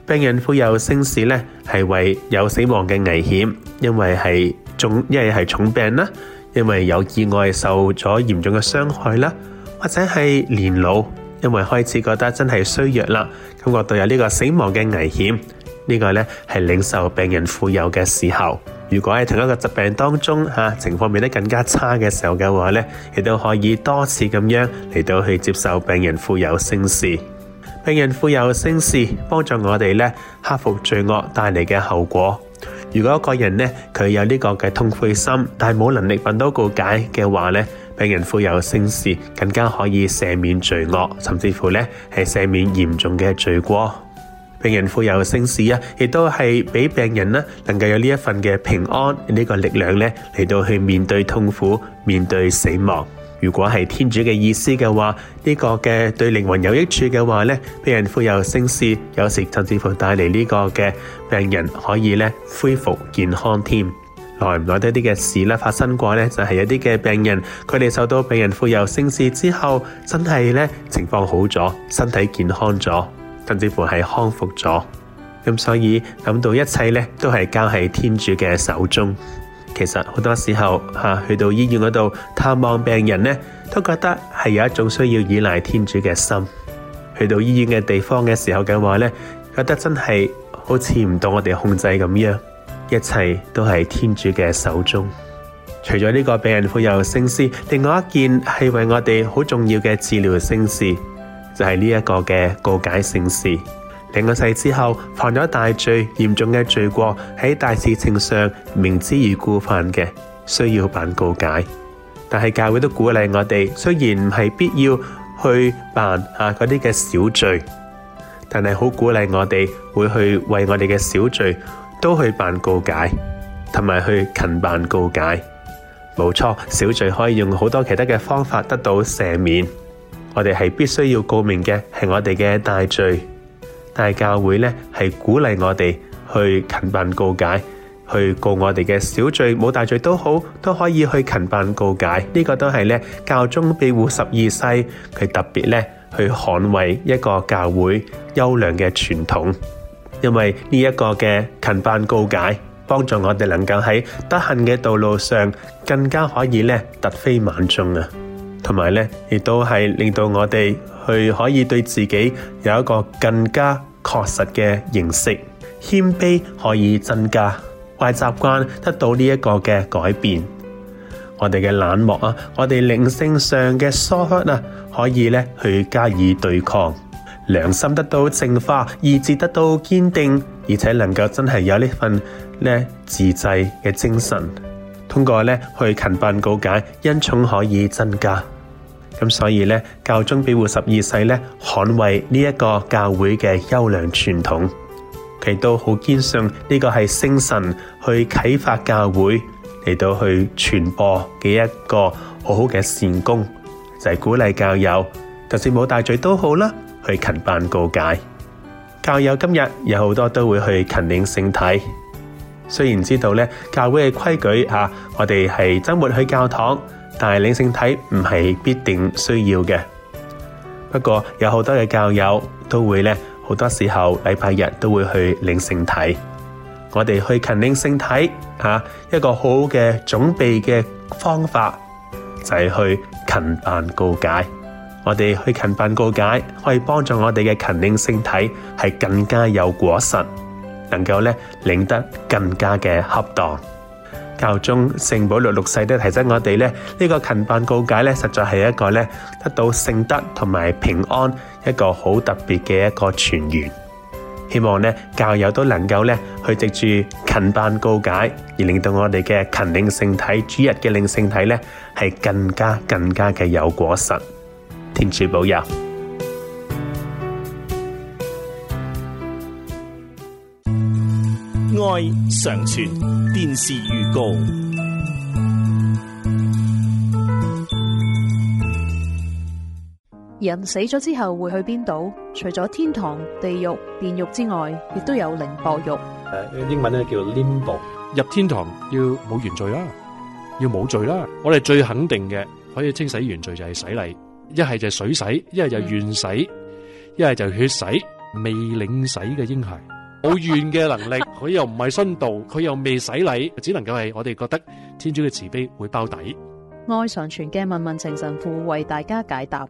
病人傅油聖事咧係為有死亡嘅危險，因為係重，因為係重病啦，因為有意外受咗嚴重嘅傷害啦，或者係年老，因為開始覺得真係衰弱啦，感覺到有呢個死亡嘅危險，呢個咧係領受病人傅油嘅時候。如果喺同一個疾病當中吓、啊、情況變得更加差嘅時候嘅話咧，亦都可以多次咁樣嚟到去接受病人傅油聖事。病人傅油聖事幫助我哋咧克服罪惡帶嚟嘅後果。如果一個人咧佢有呢個嘅痛悔心，但係冇能力揾到告解嘅話咧，病人傅油聖事更加可以赦免罪惡，甚至乎咧係赦免嚴重嘅罪過。病人傅油聖事啊，亦都係俾病人呢能夠有呢一份嘅平安呢個力量咧嚟到去面對痛苦、面對死亡。如果係天主嘅意思嘅話，呢個嘅對靈魂有益處嘅話咧，病人傅油聖事有時甚至乎帶嚟呢個嘅病人可以咧恢復健康添。耐唔耐得啲嘅事咧發生過咧，就係有啲嘅病人佢哋受到病人傅油聖事之後，真係咧情況好咗，身體健康咗，甚至乎係康復咗。咁所以諗到一切咧都係交喺天主嘅手中。其實好多時候吓、啊、去到醫院嗰度探望病人咧，都覺得係有一種需要依賴天主嘅心。去到醫院嘅地方嘅時候嘅話咧，覺得真係好似唔到我哋控制咁樣，一切都係天主嘅手中。除咗呢個病人傅油聖事，另外一件係為我哋好重要嘅治療聖事，就係呢一個嘅告解聖事。領咗洗之後犯咗大罪，嚴重嘅罪過，喺大事情上明知而故犯嘅，需要辦告解。但係教會都鼓勵我哋，雖然唔係必要去辦啊嗰啲嘅小罪，但係好鼓勵我哋會去為我哋嘅小罪都去辦告解，同埋去勤辦告解。冇錯，小罪可以用好多其他嘅方法得到赦免。我哋係必須要告明嘅係我哋嘅大罪。但係教會咧係鼓勵我哋去勤辦告解，去告我哋嘅小罪，冇大罪都好，都可以去勤辦告解。呢、這個都係咧教宗庇護十二世佢特別咧去捍衛一個教會優良嘅傳統，因為呢一個嘅勤辦告解，幫助我哋能夠喺德行嘅道路上更加可以咧突飛猛進啊，同埋咧亦都係令到我哋去可以對自己有一個更加確實嘅認識，謙卑可以增加，壞習慣得到呢一個嘅改變。我哋嘅冷漠啊，我哋靈性上嘅疏忽啊，可以咧去加以對抗，良心得到淨化，意志得到堅定，而且能夠真係有呢份咧自制嘅精神。通過咧去勤辦告解，恩寵可以增加。咁所以咧，教宗庇護十二世咧，捍衛呢一個教會嘅優良傳統，佢都好堅信呢個係聖神去啟發教會嚟到去傳播嘅一個好好嘅善功，就係、是、鼓勵教友，就算冇大罪都好啦，去勤辦告解。教友今日有好多都會去勤領聖體，雖然知道咧教會嘅規矩吓，我哋係周末去教堂。但係領聖體唔係必定需要嘅，不過有好多嘅教友都會咧，好多時候禮拜日都會去領聖體。我哋去勤領聖體啊，一個好好嘅準備嘅方法就係去勤辦告解。我哋去勤辦告解，可以幫助我哋嘅勤領聖體係更加有果實，能夠咧領得更加嘅恰當。教宗聖保祿六世都提醒我哋咧，呢、這個勤辦告解咧，實在係一個咧得到聖德同埋平安一個好特別嘅一個泉源。希望咧教友都能夠咧去藉住勤辦告解，而令到我哋嘅勤領聖體、主日嘅領聖體咧係更加更加嘅有果實。天主保佑。 愛常傳電視預告。 人死咗之後會去邊度？除咗天堂、地獄、煉獄之外，亦都有靈薄獄。 誒，英文咧叫 limbo。入天堂要冇原罪啦，要冇罪啦。我哋最肯定嘅可以清洗原罪就係洗禮，一係就水洗，一係就願洗，一係就血洗。 未領洗嘅嬰孩，冇願嘅能力，佢又唔係殉道，佢又未洗禮，只能夠係我哋覺得天主嘅慈悲會包底。 愛常傳嘅問問情神父為大家解答。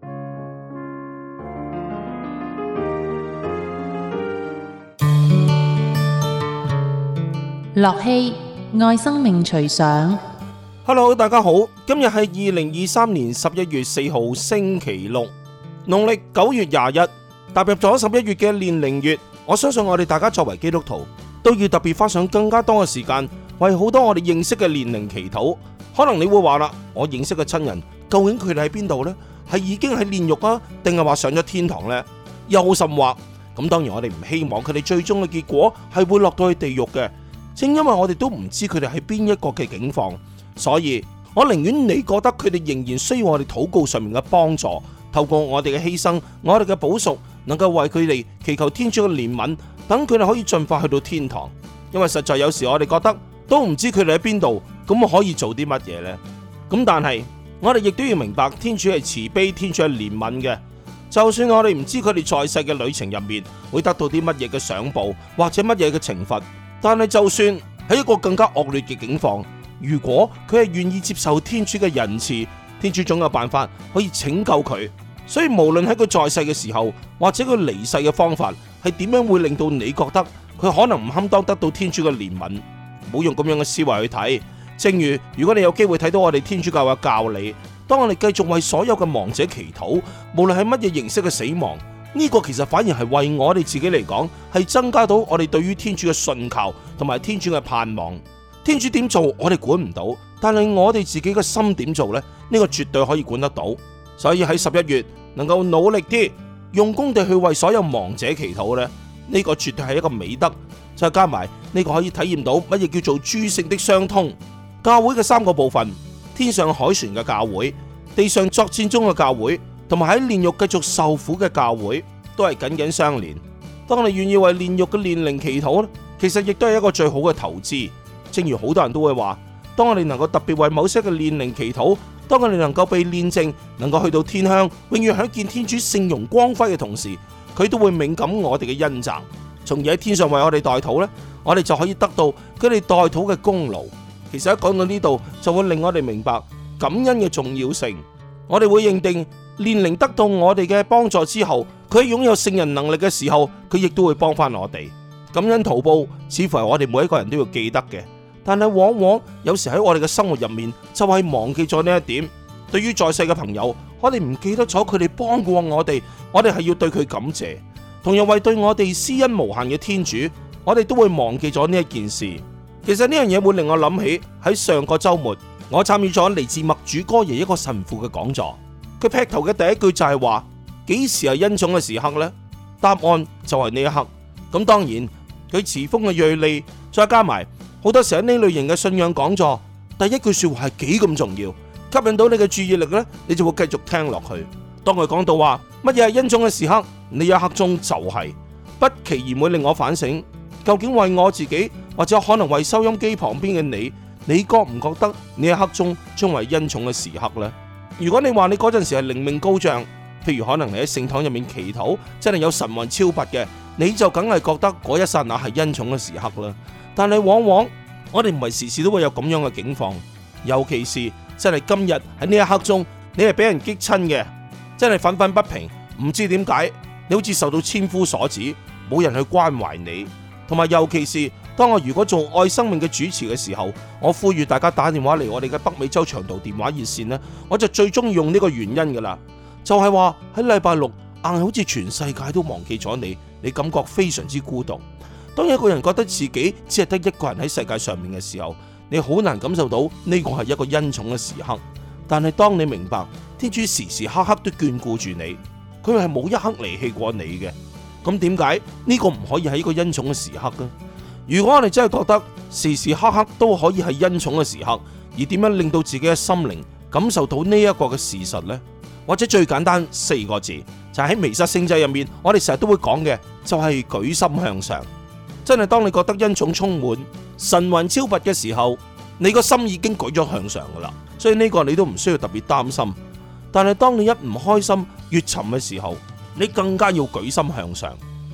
樂器愛生命隨想。 Hello， 大家好，今日係二零二三年十一月四號星期六，農曆九月廿一，踏入咗十一月嘅煉靈月。我相信我哋大家作為基督徒，都要特別花上更加多嘅時間，為好多我哋認識嘅煉靈祈禱。可能你會話啦，我認識嘅親人，究竟佢哋喺邊度呢？係已經喺煉獄啊，定係話上咗天堂呢？又甚或咁，當然我哋唔希望佢哋最終嘅結果係會落到去地獄嘅。正因為我哋都唔知佢哋喺邊一個嘅境況，所以我寧願你覺得佢哋仍然需要我哋禱告上面嘅幫助，透過我哋嘅犧牲，我哋嘅補贖，能夠為佢哋祈求天主嘅憐憫，等佢哋可以盡快去到天堂。因為實在有時我哋覺得都唔知佢哋喺邊度，咁我可以做啲乜嘢呢？咁但係我哋亦都要明白，天主係慈悲，天主係憐憫嘅。就算我哋唔知佢哋在世嘅旅程入面會得到啲乜嘢嘅賞報，或者乜嘢嘅懲罰，但係就算喺一個更加惡劣嘅境況，如果佢係願意接受天主嘅仁慈，天主總有辦法可以拯救佢。所以無論喺佢在世嘅時候，或者佢離世嘅方法係點樣，會令到你覺得佢可能唔堪當得到天主嘅憐憫，唔好用咁樣嘅思維去睇。正如如果你有機會睇到我哋天主教嘅教理，當我哋繼續為所有嘅亡者祈禱，無論係乜嘢形式嘅死亡，呢個其實反而係為我哋自己嚟講，係增加到我哋對於天主嘅信靠同埋天主嘅盼望。天主點做我哋管唔到，但係我哋自己嘅心點做呢？呢個絕對可以管得到。所以喺十一月能夠努力啲，用功地去為所有亡者祈禱呢，呢個絕對係一個美德。再加埋呢個可以體驗到乜嘢叫做諸聖的相通。教會嘅三個部分：天上凱旋嘅教會、地上作戰中嘅教會，同埋喺煉獄繼續受苦嘅教會，都係緊緊相連。當你願意為煉獄嘅煉靈祈禱，其實亦都係一個最好嘅投資。正如好多人都會話，當我哋能夠特別為某些嘅煉靈祈禱，當我哋能夠被煉淨，能夠去到天鄉，永遠享見天主聖容光輝嘅同時，佢都會敏感我哋嘅恩澤，從而喺天上為我哋代禱呢，我哋就可以得到佢哋代禱嘅功勞。其實一講到呢度，就會令我哋明白感恩嘅重要性。我哋會認定煉靈得到我哋嘅幫助之後，佢擁有聖人能力嘅時候，佢亦都會幫翻我哋。感恩圖報似乎係我哋每一個人都要記得嘅。但係往往有時喺我哋嘅生活入面，就係忘記咗呢一點。對於在世嘅朋友，我哋唔記得咗佢哋幫過我哋，我哋係要對佢感謝。同樣為對我哋施恩無限嘅天主，我哋都會忘記咗呢一件事。其實呢樣嘢會令我諗起喺上個週末，我參與咗嚟自默主哥爺一個神父嘅講座。佢劈頭嘅第一句就係話：幾時係恩寵嘅時刻呢？答案就係呢一刻。咁當然佢詞鋒嘅銳利，再加埋。好多時喺呢類型嘅信仰講座，第一句說話係幾咁重要，吸引到你嘅注意力呢，你就會繼續聽落去。當佢講到話乜嘢係恩寵嘅時刻，呢一刻鐘就係、是、不期然會令我反省，究竟為我自己或者可能為收音機旁邊嘅你，你覺唔覺得呢一刻鐘將為恩寵嘅時刻呢？如果你話你嗰陣時係靈命高漲，譬如可能你喺聖堂入面祈禱，真係有神魂超拔嘅，你就梗係覺得嗰一剎那係恩寵嘅時刻啦。但係往往我哋唔係時時都會有咁樣嘅境況，尤其是真係今日喺呢一刻鐘，你係俾人激親嘅，真係憤憤不平，唔知點解，你好似受到千夫所指，冇人去關懷你。同埋尤其是當我如果做愛生命嘅主持嘅時候，我呼籲大家打電話嚟我哋嘅北美洲長途電話熱線呢，我就最中意用呢個原因噶啦，就係話喺禮拜六硬係好似全世界都忘記咗你，你感覺非常之孤獨。當一個人覺得自己只係得一個人喺世界上面嘅時候，你好難感受到呢個係一個恩寵嘅時刻。但係當你明白天主時時刻刻都眷顧住你，佢係冇一刻離棄過你嘅，咁點解呢個唔可以係一個恩寵嘅時刻呢？如果我哋真係覺得時時刻刻都可以係恩寵嘅時刻，而點樣令到自己嘅心靈感受到呢一個嘅事實呢？或者最簡單四個字，就係喺彌撒聖祭入面，我哋成日都會講嘅，就係舉心向上。真係當你覺得恩寵充滿、神魂超拔嘅時候，你個心已經舉咗向上噶啦，所以呢個你都唔需要特別擔心。但係當你一唔開心、越沉嘅時候，你更加要舉心向上，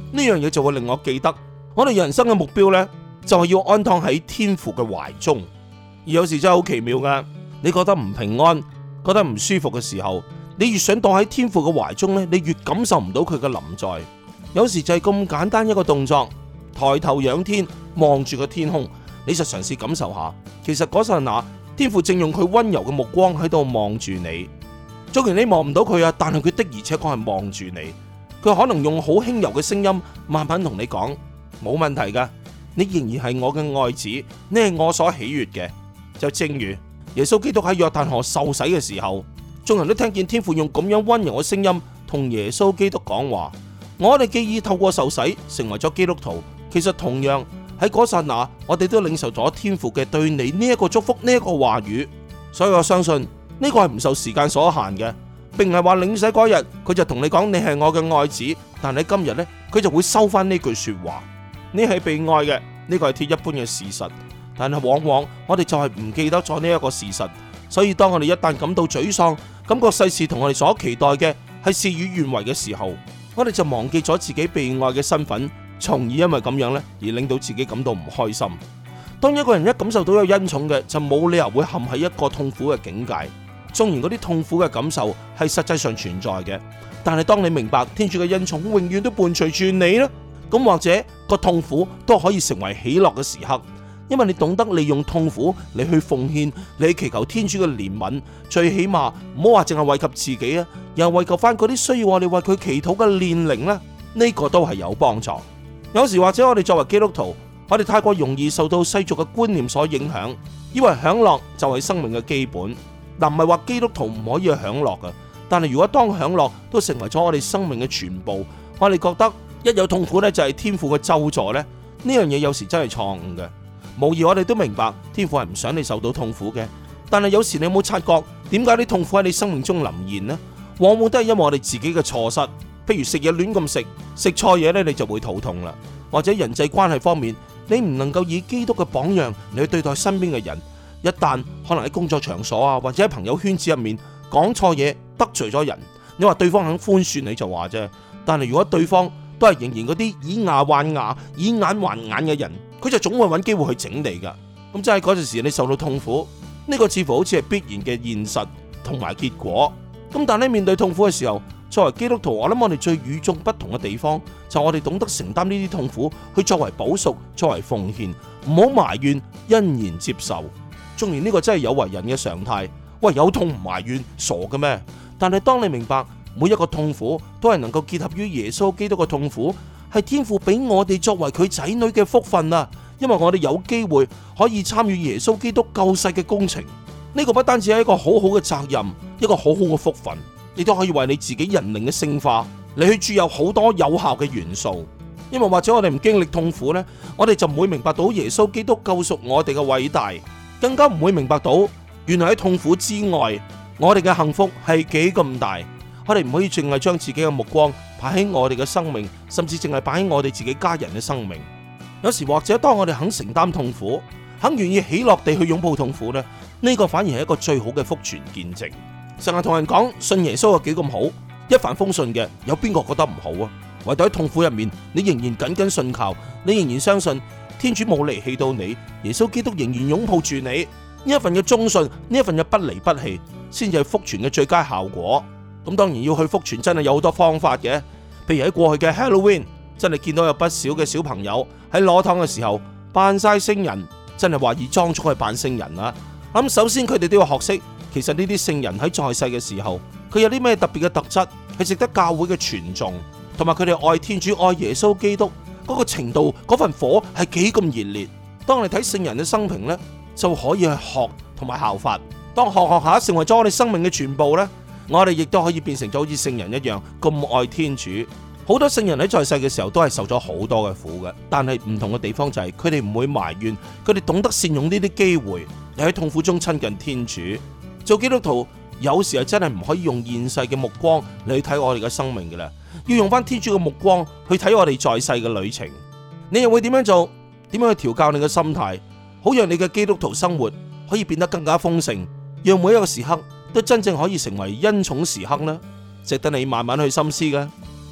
呢樣嘢就會令我記得，我哋人生嘅目標呢，就係要安躺喺天父嘅懷中。而有時真係好奇妙噶，你覺得唔平安、覺得唔舒服嘅時候，你越想躲喺天父嘅懷中呢，你越感受唔到佢嘅臨在。有時就係咁簡單一個動作，抬頭仰天望住個天空，你就嘗試感受下，其實嗰剎那天父正用佢溫柔嘅目光喺度望住你。雖然你望唔到佢啊，但係佢的而且確係望住你。佢可能用好輕柔嘅聲音慢慢同你講，冇問題噶，你仍然係我嘅愛子，你係我所喜悅嘅。就正如耶穌基督喺約旦河受洗嘅時候，眾人都聽見天父用咁樣溫柔嘅聲音同耶穌基督講話。我哋既已透過受洗成為咗基督徒，其實同樣喺嗰剎那，我哋都領受咗天父嘅對你呢一個祝福，呢一個話語。所以我相信呢個係唔受時間所限嘅，並唔係話領洗嗰日佢就同你講你係我嘅愛子，但係今日呢，佢就會收翻呢句說話。你係被愛嘅，呢個係鐵一般嘅事實。但係往往我哋就係唔記得咗呢一個事實，所以當我哋一旦感到沮喪，感覺世事同我哋所期待嘅係事與願違嘅時候，我哋就忘記咗自己被愛嘅身份，從而因為咁樣呢而令到自己感到唔開心。當一個人一感受到有恩寵嘅，就冇理由會陷喺一個痛苦嘅境界。縱然嗰啲痛苦嘅感受係實際上存在嘅，但係當你明白天主嘅恩寵永遠都伴隨住你啦，咁或者個痛苦都可以成為喜樂嘅時刻。因為你懂得利用痛苦嚟去奉獻，你去祈求天主嘅憐憫，最起碼唔好話淨係惠及自己啊，又惠及翻嗰啲需要我哋為佢祈禱嘅煉靈呢，呢個都係有幫助。有時或者我哋作為基督徒，我哋太過容易受到世俗嘅觀念所影響，以為享樂就係生命嘅基本。嗱，唔係話基督徒唔可以去享樂噶，但係如果當享樂都成為咗我哋生命嘅全部，我哋覺得一有痛苦呢就係天父嘅咒詛呢，呢樣嘢有時真係錯誤嘅。無疑我哋都明白天父係唔想你受到痛苦嘅，但係有時你有冇察覺點解啲痛苦喺你生命中臨現呢？往往都係因為我哋自己嘅錯失，譬如食嘢亂咁食，食錯嘢呢，你就會肚痛啦，或者人際關係方面你唔能夠以基督嘅榜樣嚟去對待身邊嘅人，一旦可能喺工作場所啊或者喺朋友圈子入面講錯嘢得罪咗人，你話對方肯寬恕你就話啫，但係如果對方都係仍然嗰啲以牙還牙以眼還眼嘅人，佢就總會揾機會去整你噶。咁即係嗰陣時你受到痛苦，呢個似乎好似係必然嘅現實同埋結果。咁但係面對痛苦嘅時候，作為基督徒，我諗我哋最與眾不同嘅地方就係我哋懂得承擔呢啲痛苦，去作為補贖，作為奉獻，唔好埋怨，欣然接受。縱然呢個真係有為人嘅常態，喂，有痛唔埋怨，傻嘅咩？但係當你明白每一個痛苦都係能夠結合於耶穌基督嘅痛苦，係天父俾我哋作為佢仔女嘅福分啊！因為我哋有機會可以參與耶穌基督救世嘅工程，呢個不單止係一個好好嘅責任，一個好好嘅福分，你都可以為你自己人靈嘅聖化，你去注入好多有效嘅元素。因為或者我哋唔經歷痛苦呢，我哋就唔會明白到耶穌基督救贖我哋嘅偉大，更加唔會明白到原來喺痛苦之外，我哋嘅幸福係幾咁大。我哋唔可以淨係將自己嘅目光擺喺我哋嘅生命，甚至淨係擺喺我哋自己家人嘅生命。有時或者當我哋肯承擔痛苦，肯願意喜樂地去擁抱痛苦呢，呢個反而係一個最好嘅福傳見證。成日同人講信耶穌有幾咁好，一帆風順嘅，有邊個覺得唔好啊？唯獨喺痛苦入面，你仍然緊緊信靠，你仍然相信天主冇離棄到你，耶穌基督仍然擁抱住你，呢一份嘅忠信，呢一份嘅不離不棄，先至係福傳嘅最佳效果。咁當然要去福傳真係有好多方法嘅，譬如喺過去嘅 Halloween， 真係見到有不少嘅小朋友喺攞糖嘅時候扮晒聖人，真係話以裝束去扮聖人啦。咁首先佢哋都要學識，其實呢啲聖人喺在世嘅時候，佢有啲咩特別嘅特質係值得教會嘅傳頌，同埋佢哋愛天主愛耶穌基督嗰個程度，嗰份火係幾咁熱烈。當你睇聖人嘅生平呢，就可以去學同埋效法。當學學下成為咗我哋生命嘅全部呢，我哋亦都可以變成咗好似聖人一樣咁愛天主。好多聖人喺在世嘅時候都係受咗好多嘅苦嘅，但係唔同嘅地方就係佢哋唔會埋怨，佢哋懂得善用呢啲機會，你喺痛苦中親近天主。做基督徒有時係真係唔可以用現世嘅目光嚟去睇我哋嘅生命嘅啦，要用翻天主嘅目光去睇我哋在世嘅旅程。你又會點樣做？點樣去調教你嘅心態，好讓你嘅基督徒生活可以變得更加豐盛，讓每一個時刻都真正可以成為恩寵時刻呢？值得你慢慢去深思嘅。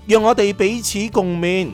讓我哋彼此共勉。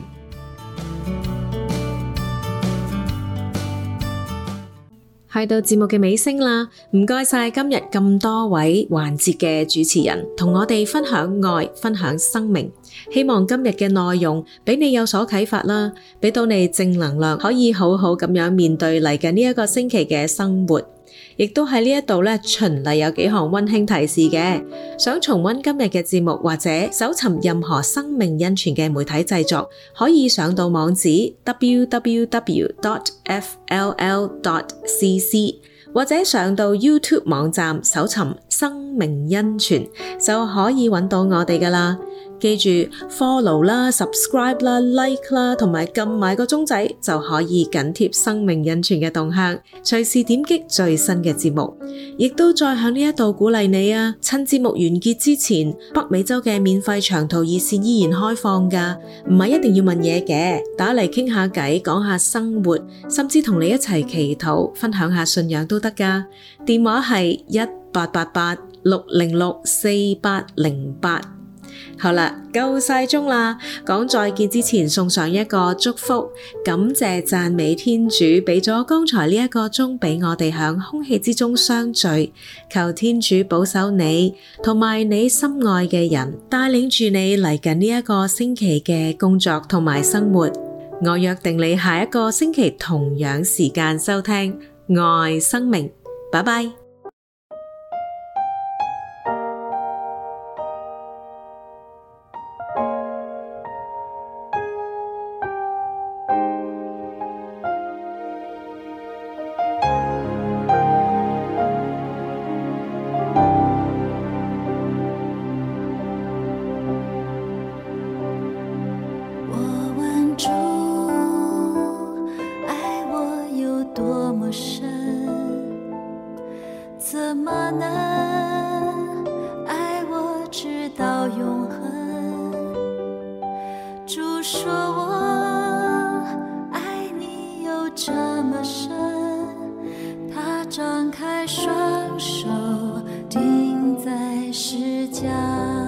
去到節目嘅尾聲啦，唔該晒今日咁多位環節嘅主持人，同我哋分享愛，分享生命。希望今日嘅內容俾你有所啟發啦，俾到你正能量，可以好好咁樣面對嚟緊呢一個星期嘅生活。亦都喺呢一度咧，循例有幾項溫馨提示嘅。想重溫今日嘅節目或者搜尋任何生命恩泉嘅媒體製作，可以上到網址 double-u double-u double-u dot f l l dot c c， 或者上到 YouTube 網站搜尋生命恩泉就可以揾到我哋噶啦。記住 follow 啦、subscribe 啦、like 啦，同埋撳埋個鐘仔就可以緊貼生命恩泉嘅動向，隨時點擊最新嘅節目。亦都再響呢一度鼓勵你啊，趁節目完結之前，北美洲嘅免費長途熱線依然開放噶，唔係一定要問嘢嘅，打嚟傾下偈，講下生活，甚至同你一齊祈禱，分享下信仰都得噶。電話係一八八八六零六四八零八。好啦，夠晒鐘啦！講再見之前，送上一個祝福，感謝讚美天主俾咗剛才呢一個鐘俾我哋響空氣之中相聚，求天主保守你同埋你心愛嘅人，帶領住你嚟緊呢一個星期嘅工作同埋生活。我約定你下一個星期同樣時間收聽愛生命，拜拜。 张開雙手，釘在十架。